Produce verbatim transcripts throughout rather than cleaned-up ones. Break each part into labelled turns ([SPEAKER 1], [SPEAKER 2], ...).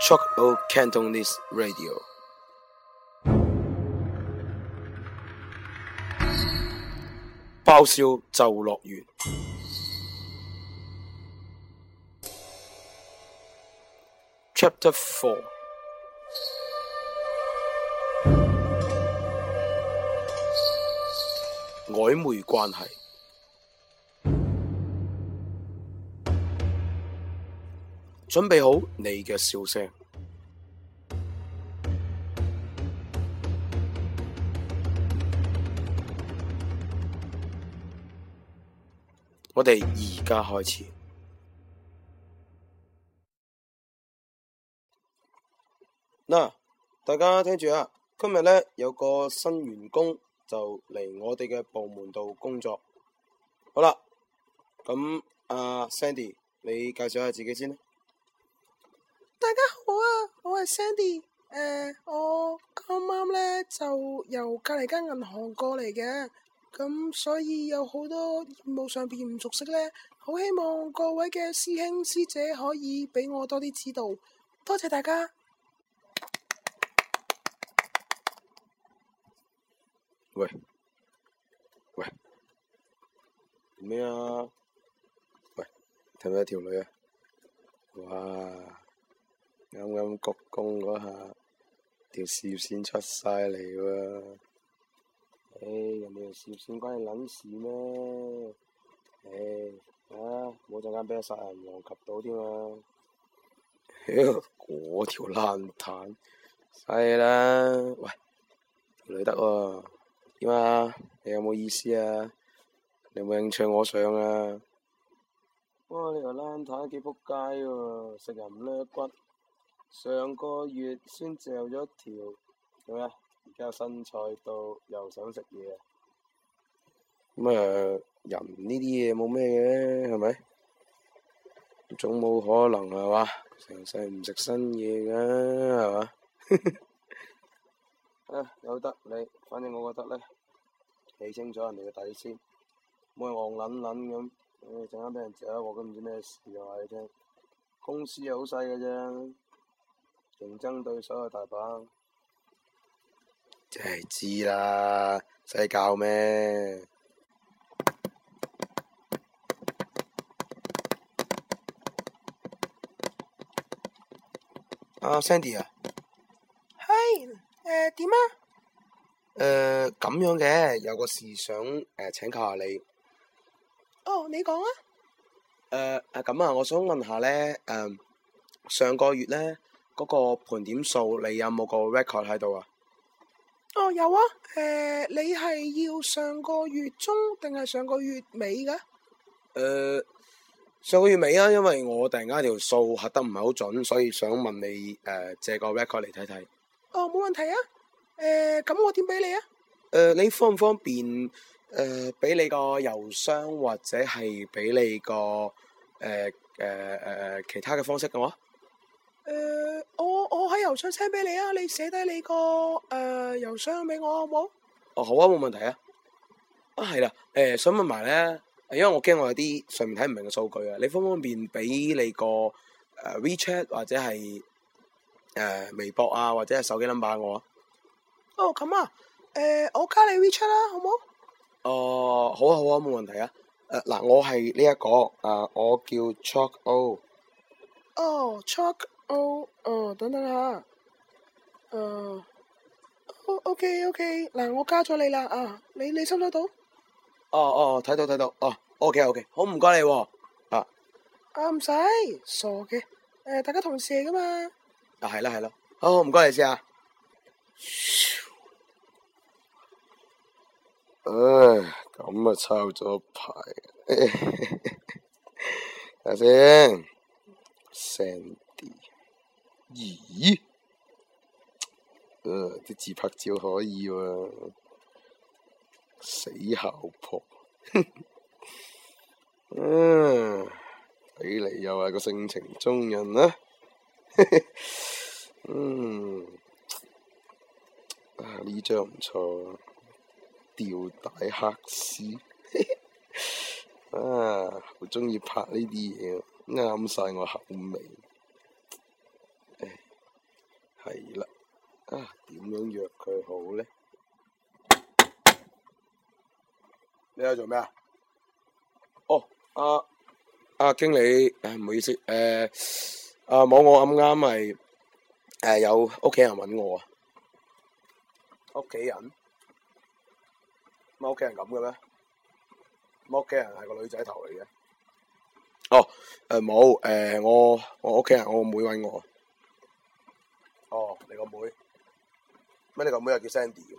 [SPEAKER 1] Shock O Cantonese Radio。爆笑就樂園 Chapter Four。曖昧關係。準備好你嘅笑聲。我哋而家開始。嗱，大家聽住啊！今日呢，有個新員工就嚟我哋嘅部門度工作。好啦，咁阿 Sandy，你介紹下自己先啦。
[SPEAKER 2] 大家好啊，我係 Sandy。誒、呃，我啱啱呢就由隔籬間銀行過嚟嘅，咁所以有好多業務上邊唔熟悉呢，好希望各位嘅師兄師姐可以俾我多啲指導，多謝大家。
[SPEAKER 1] 喂喂，咩啊？喂，睇唔睇條女啊？哇！啱啱鞠躬嗰下，條事業線出晒嚟喎！唉、哎，人哋條事業線關你撚事咩？唉、哎，啊，冇陣間俾個殺人王及到添啊！屌，嗰條爛炭，係啦！喂，條女得喎，點啊？你有冇意思啊？你有冇興趣我上啊？哇！你條爛炭幾仆街喎，食人唔甩骨。上個月先嚼咗條，做咩？而家有新菜到，又想食嘢啊！咁啊，人呢啲嘢冇咩嘅，係咪？總冇可能係嘛？成世唔食新嘢噶，係嘛？啊，由得你，反正我覺得咧，睇清楚人哋嘅底先，唔好戇撚撚咁。誒，陣間俾人嚼一鑊都唔知咩事啊！話你聽，公司又好細嘅啫。競爭對手又大把，真係知啦，使教咩？阿 Sandy 啊，
[SPEAKER 2] 係，誒點啊？
[SPEAKER 1] 誒咁樣嘅，有個事想誒請教下你。
[SPEAKER 2] 哦，你講啊。
[SPEAKER 1] 誒誒咁啊，我想問下咧，誒上個月咧。嗰個盤點數，你有冇個 record 喺度啊？
[SPEAKER 2] 哦，有啊。誒、呃，你係要上個月中定係上個月尾噶？誒、
[SPEAKER 1] 呃，上個月尾啊，因為我突然間條數核得唔係好準，所以想問你誒、呃、借個 record 嚟睇睇。
[SPEAKER 2] 哦，冇問題啊。誒、呃，咁我點俾你啊？誒、
[SPEAKER 1] 呃，你方唔方便誒俾你個郵箱或者係俾你個誒誒誒其他嘅方式嘅話？
[SPEAKER 2] 誒、呃，我我喺郵箱 send 俾你啊，你寫低你個誒郵箱俾我好唔好？
[SPEAKER 1] 哦，好啊，冇問題啊。啊，係啦，誒、呃，想問埋咧，因為我驚我有啲上面睇唔明嘅數據啊，你方唔方便俾你個誒、呃、WeChat 或者係誒、呃、微博啊，或者係手機 number 我啊？
[SPEAKER 2] 哦，咁啊，誒、呃，我加你 WeChat 啦，好唔好？
[SPEAKER 1] 哦、呃，好啊，好啊，冇問題啊。誒、呃，嗱，我係呢一個啊、呃，我叫 Shock O。
[SPEAKER 2] 哦 ，Shock O，哦，等等下，誒、呃。O OK OK，嗱我加咗你啦啊，你你收唔收到？
[SPEAKER 1] 哦哦，睇到睇到，哦 OK OK，好唔該你喎。啊
[SPEAKER 2] 啊唔使，傻嘅，誒大家同事嚟噶嘛。
[SPEAKER 1] 啊係啦係啦，好唔該你先啊。唉，咁啊抄咗牌，睇下先 ，Sandy，咦？誒，啲、呃、自拍照可以喎、啊，死姣婆，嗯，睇嚟又係個性情中人啦、啊，嗯，啊呢張唔錯，吊帶黑絲，啊，好鍾意拍呢啲嘢，啱晒我口味。 係啦，啊點樣約佢好呢？你喺度做咩啊？哦，阿、啊、阿、啊、經理，誒唔好意思，誒、呃，啊冇我啱啱咪誒有屋企人搵我啊。屋企人？乜屋企人咁嘅咩？乜屋企人係個女仔頭嚟嘅？哦，誒冇，誒我我屋企人我妹搵我。哦，你個妹？乜你個妹又叫 Sandy 嘅？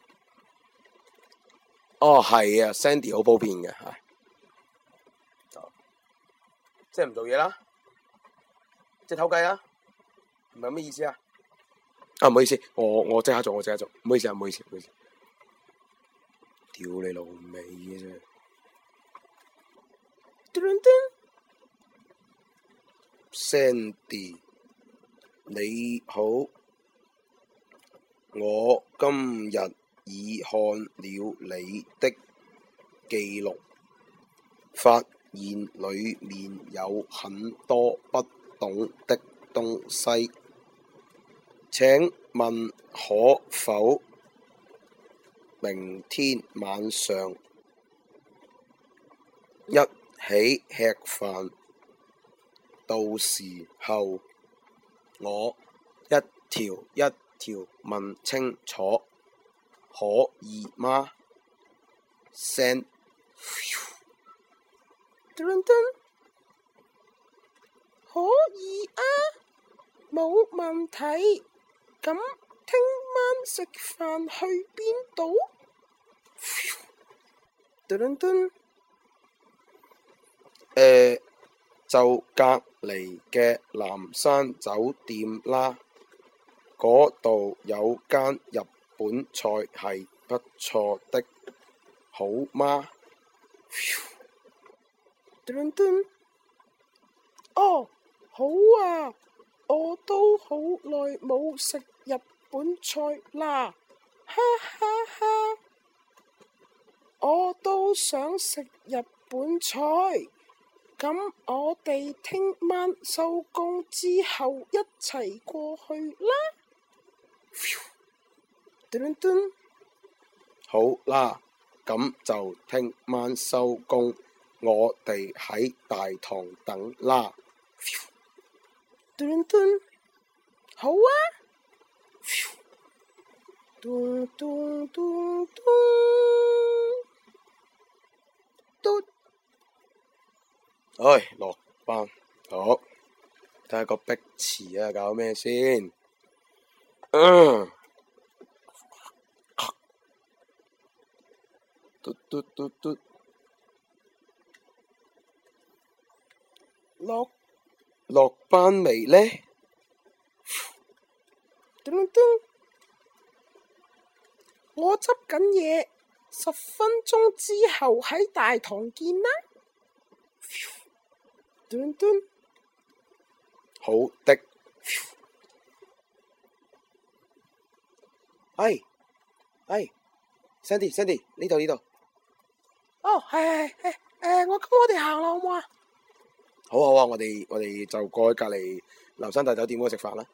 [SPEAKER 1] 哦，係啊 ，Sandy 好普遍嘅吓，哦，即係唔做嘢啦，即係偷雞啦，唔係咩意思啊？啊，唔好意思，我我即刻做，我即刻做，唔好意思啊，唔好意思，唔好意思，屌你老味嘅啫。Sandy，你好，我今日已看了你的記錄，發現裏面有很多不懂的東西，請問可否明天晚上一起吃飯？到時候我一條一條問清楚，可以嗎？Send，
[SPEAKER 2] 可以啊，冇問題。咁聽晚食飯去邊度？
[SPEAKER 1] 誒，就隔離嘅南山酒店啦，嗰度有間日本菜係不錯的，好嗎？
[SPEAKER 2] 哦，好啊，我都好耐冇食日本菜啦，哈哈哈！我都想食日本菜，咁我哋聽晚收工之後一齊過去啦。
[SPEAKER 1] 好啦，咁就聽晚收工，我哋喺大堂等啦。
[SPEAKER 2] 好啊。嘟嘟嘟嘟嘟。
[SPEAKER 1] 唉，落班，好，睇下個碧池啊，搞咩先？嗯，嘟嘟嘟嘟，
[SPEAKER 2] 落
[SPEAKER 1] 落班未呢？
[SPEAKER 2] 我執緊嘢，十分鐘之後喺大堂見啦。
[SPEAKER 1] 好的。哎哎 ，Sandy Sandy 呢度呢度。
[SPEAKER 2] 哦，係係係，誒，我咁我哋行啦，好唔好啊？
[SPEAKER 1] 好好啊，我哋我哋就過去隔籬南山大酒店嗰度食飯啦。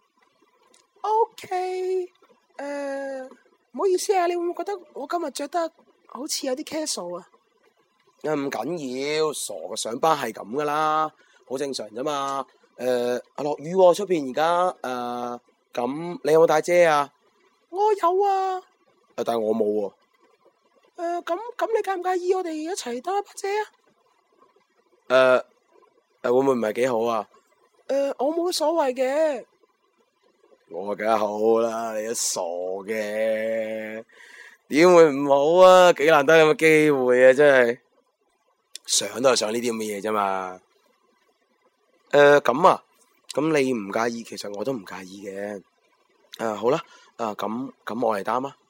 [SPEAKER 2] OK，誒，唔好意思啊，你會唔會覺得我今日着得好似有啲 casual 啊？
[SPEAKER 1] 啊，唔緊要，傻嘅上班係咁噶啦，好正常啫嘛。誒，啊落雨喎，出邊而家誒，咁你有冇帶遮啊？
[SPEAKER 2] 我有啊。
[SPEAKER 1] 誒，但係我冇喎。
[SPEAKER 2] 誒，咁咁你介唔介意我哋一齊擔一把遮啊？
[SPEAKER 1] 誒誒，會唔會唔係幾好啊？
[SPEAKER 2] 誒，我冇乜所謂嘅。
[SPEAKER 1] 我梗係好啦，你都傻嘅，點會唔好啊？幾難得咁嘅機會啊，真係想都係想呢啲咁嘅嘢啫嘛。誒，咁啊，咁你唔介意，其實我都唔介意嘅。誒，好啦，啊咁咁我嚟擔啊。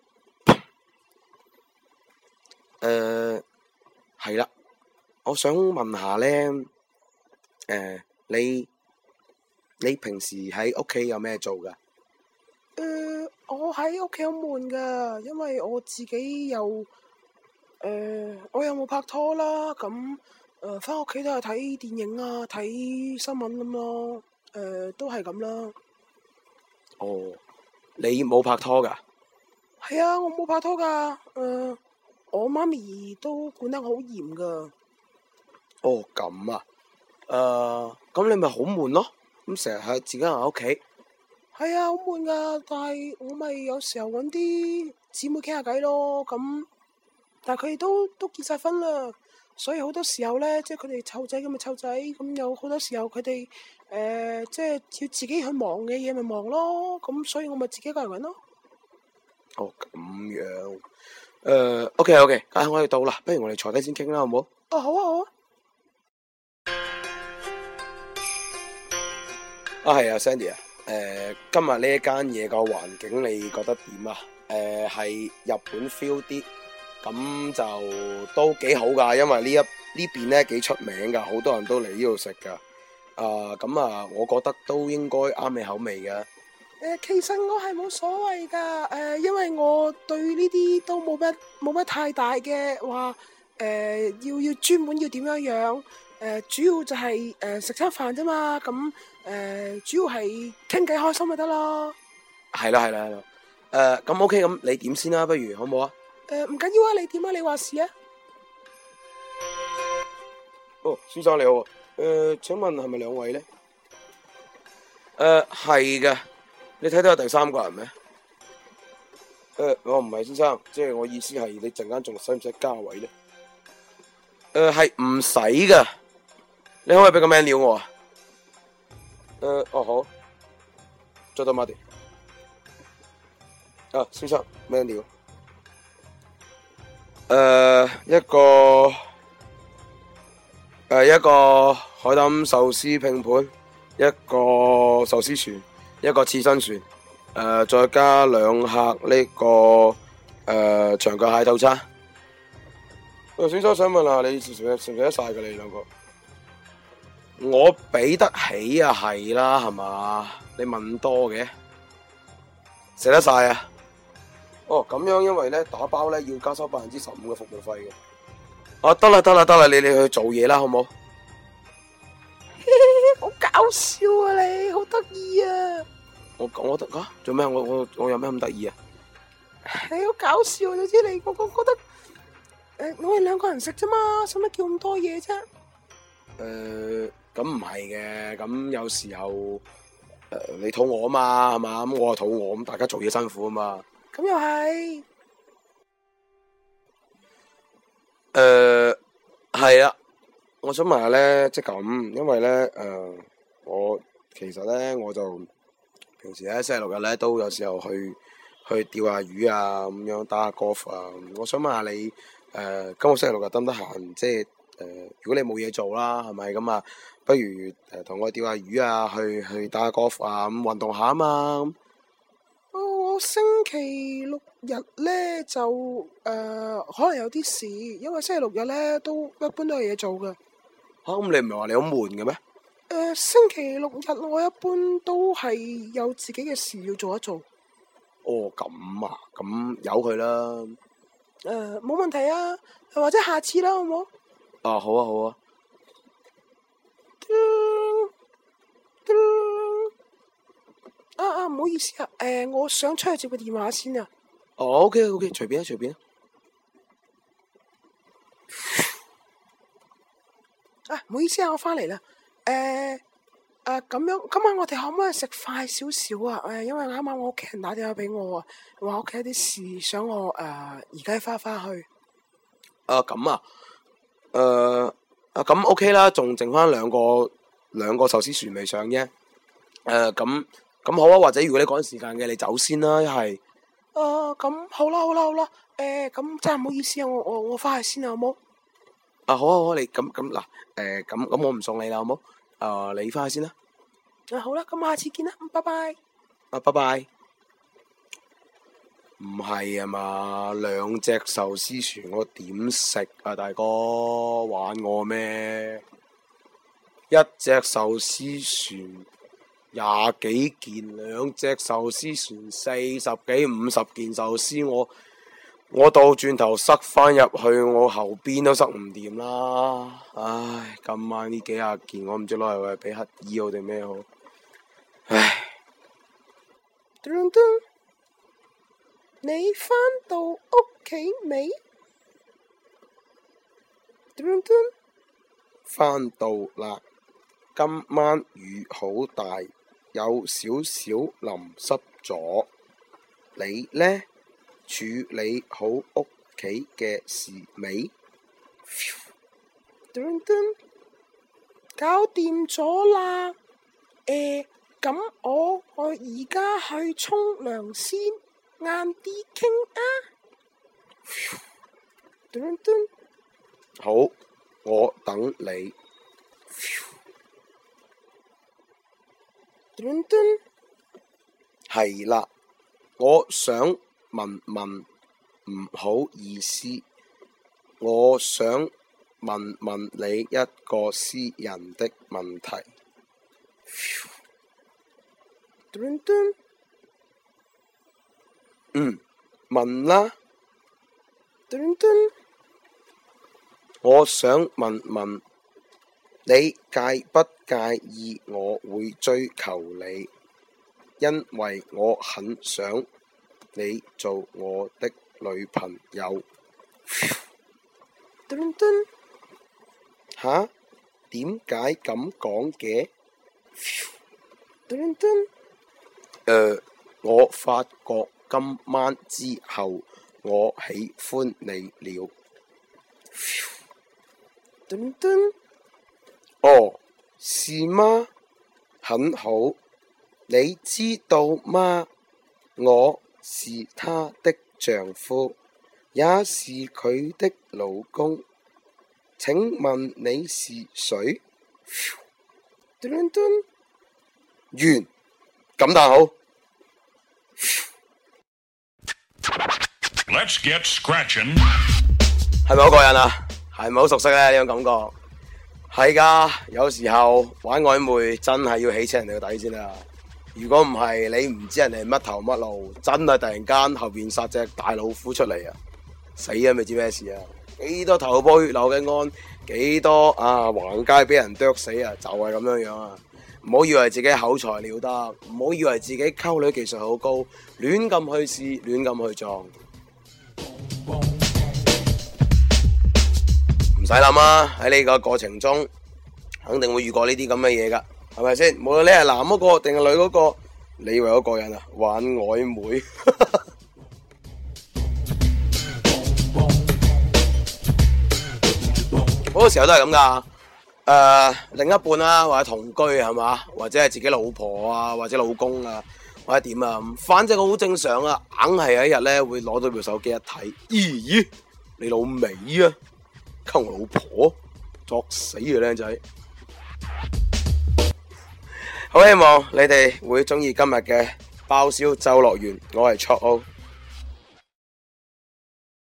[SPEAKER 1] 誒，係啦，我想問下咧，誒，你你平時喺屋企有咩做噶？
[SPEAKER 2] 誒，我喺屋企好悶噶，因為我自己又誒，我又冇拍拖啦，咁誒，翻屋企都係睇電影啊，睇新聞咁咯，誒，都係咁啦。
[SPEAKER 1] 哦，你冇拍拖噶？
[SPEAKER 2] 係啊，我冇拍拖噶。誒、呃，我媽咪都管得好嚴噶。
[SPEAKER 1] 哦，咁啊。誒、呃，咁你咪好悶咯？咁成日喺自己人喺屋企。
[SPEAKER 2] 係啊，好悶噶，但係我咪有時候搵啲姊妹傾下偈咯。咁，但係佢哋都都結晒婚啦，所以好多時候咧，即係佢哋湊仔咁咪湊仔，咁有好多時候佢哋誒，即係要自己去忙嘅嘢咪忙咯。咁所以我咪自己一個人搵咯。
[SPEAKER 1] 哦，咁樣。誒、呃、，OK OK，啊，我哋到啦，不如我哋坐低先傾啦，好唔好？
[SPEAKER 2] 哦，好啊，好啊。
[SPEAKER 1] 啊，係啊，Sandy 啊，誒、呃，今日呢一間嘢個環境你覺得點啊？誒、呃，係日本 feel 啲，咁就都幾好噶，因為呢一呢邊咧幾出名噶，好多人都嚟呢度食噶。啊，咁啊，我覺得都應該啱你口味嘅。誒、
[SPEAKER 2] 呃，其實我係冇所謂噶，誒、呃，因為我對呢啲都冇乜冇乜太大嘅話，誒、呃，要要專門要點樣樣，誒、呃，主要就係誒食餐飯啫嘛，咁、呃、誒主要係傾偈開心咪得咯。
[SPEAKER 1] 係啦係啦係啦，誒、呃，咁 OK，咁你點先啦，不如好唔好啊？
[SPEAKER 2] 誒、呃，唔緊要啊，你點啊？你話事啊？
[SPEAKER 1] 哦，先生你好，誒、呃，請問係咪兩位咧？誒、呃，係嘅。你睇到有第三個人咩？誒、呃，我唔係先生，即係我意思係你陣間仲使唔使加位咧？誒、呃，係唔使噶，你可唔可以俾個 menu 我啊？誒、呃，哦好，做到馬地。啊，先生 menu。誒、呃，一個誒、呃、一個海膽壽司拼盤，一個壽司船。一個刺身船，誒、呃，再加兩客呢、這個誒、呃、長腳蟹套餐。喂、呃，先生想問下，你食唔食得晒㗎？你兩個，我俾得起啊，係啦，係嘛？你問多嘅，食得晒啊？哦，咁樣，因為咧打包咧要加收百分之十五嘅服務費嘅。啊，得啦得啦得啦，你你去做嘢啦，好唔好？
[SPEAKER 2] 好搞笑啊你，好得意啊！
[SPEAKER 1] 我我得啊，做咩？我我我有咩咁得意啊？
[SPEAKER 2] 你好搞笑，總之你我我覺得，誒、呃，我哋兩個人食啫嘛，使乜叫咁多嘢啫？
[SPEAKER 1] 誒、呃，咁唔係嘅，咁有時候誒、呃、你肚餓啊嘛，係嘛？咁我又肚餓，咁大家做嘢辛苦啊嘛。
[SPEAKER 2] 咁又係。
[SPEAKER 1] 誒，係啊。我想問下咧，即係咁，因為咧，誒、呃，我其實咧，我就平時咧星期六日咧都有時候去去釣下魚啊，咁樣打下 golf 啊。我想問下你，誒、呃，今個星期六日得唔得閒？即係誒、呃，如果你冇嘢做啦，係咪咁啊？不如誒同、呃、我釣下魚啊，去去打下 golf 啊，咁運動下啊嘛。
[SPEAKER 2] 哦，我星期六日咧就誒、呃、可能有啲事，因為星期六日咧都一般都有嘢做㗎。
[SPEAKER 1] 吓，咁你唔係話你好悶嘅咩？
[SPEAKER 2] 誒，星期六日我一般都係有自己嘅事要做一做。
[SPEAKER 1] 哦，咁啊，咁由佢啦。
[SPEAKER 2] 誒，冇問題啊，或者下次啦，好唔好？
[SPEAKER 1] 啊，好啊，好啊。
[SPEAKER 2] 啊啊，唔好意思啊，誒，我想出去接個電話先啊。
[SPEAKER 1] 哦，OK，OK，隨便啊，隨便啊。
[SPEAKER 2] 啊，唔好意思啊，我翻嚟啦。誒，誒，咁樣，今晚我哋可唔可以食快少少啊？誒，因為啱啱我屋企人打電話俾我啊，話屋企有啲事，想我誒而家翻翻去。
[SPEAKER 1] 啊，咁啊，誒，啊咁 OK 啦，仲剩翻兩個兩個壽司船未上啫。誒，咁咁好啊，或者如果你趕時間嘅，你走先啦，一係。
[SPEAKER 2] 誒，咁好啦，好啦，好啦。誒，咁真係唔好意思啊，我我我翻去先啊，好冇？
[SPEAKER 1] 啊，好啊，好啊，你咁咁嗱，誒，咁咁我唔送你啦，好冇？誒，你翻去先啦。
[SPEAKER 2] 啊，好啦，咁下次見啦，拜拜。
[SPEAKER 1] 啊，拜拜。唔係啊嘛，兩隻壽司船我點食啊，大哥玩我咩？一隻壽司船廿幾件，兩隻壽司船四十幾五十件壽司，我我倒轉頭塞翻入去，我後邊都塞唔掂啦。唉，今晚呢幾廿件，我唔知攞嚟為俾乞兒好定咩好。唉。
[SPEAKER 2] 嘟嘟，你返到屋企未？嘟嘟，
[SPEAKER 1] 返到啦。今晚雨好大，有少少淋濕咗。你呢？處理好屋企嘅事未？
[SPEAKER 2] 嘟嘟，搞掂咗啦。誒，咁我我而家去沖涼先，晏啲傾啊。嘟嘟，
[SPEAKER 1] 好，我等你。
[SPEAKER 2] 嘟嘟，
[SPEAKER 1] 係啦，我想問問，唔好意思，我想問問你一個私人的問題。
[SPEAKER 2] 嘟嘟，
[SPEAKER 1] 嗯，問啦。
[SPEAKER 2] 嘟嘟，
[SPEAKER 1] 我想問問你介不介意我會追求你，因為我很想你做我的女朋友。
[SPEAKER 2] 嘟嘟，
[SPEAKER 1] 吓？點解咁講嘅？
[SPEAKER 2] 嘟嘟，
[SPEAKER 1] 誒，我發覺今晚之後我喜歡你了。
[SPEAKER 2] 嘟嘟，
[SPEAKER 1] 哦，是嗎？很好，你知道嗎？我是她的丈夫，也是佢的老公。請問你是誰？
[SPEAKER 2] 嘟嘟，
[SPEAKER 1] 完，感嘆好。
[SPEAKER 3] Let's get scratching。
[SPEAKER 1] 係咪好過癮啊？係咪好熟悉呢？呢種感覺係噶，有時候玩曖昧真係要起清人哋個底先啦。如果唔係，你唔知人哋乜頭乜路，真係突然間後邊殺隻大老虎出嚟啊！死啊！未知咩事啊！幾多頭破血流嘅案，幾多啊橫街俾人剁死啊！就係咁樣樣啊！唔好以為自己口才了得，唔好以為自己溝女技術好高，亂咁去試，亂咁去撞。唔使諗啊！喺呢個過程中，肯定會遇過呢啲咁嘅嘢噶，係咪先？無論你係男嗰個定係女嗰個，你以為嗰個人啊玩曖昧？好多時候都係咁噶。誒、呃，另一半啦、啊，或者同居係嘛，或者係自己老婆啊，或者老公啊，或者點啊，反正好正常啊。硬係有一日咧會攞到部手機一睇，咦？你老味啊！溝我老婆，作死嘅靚仔。好希望你哋會中意今日嘅爆笑周樂園，我係卓奧。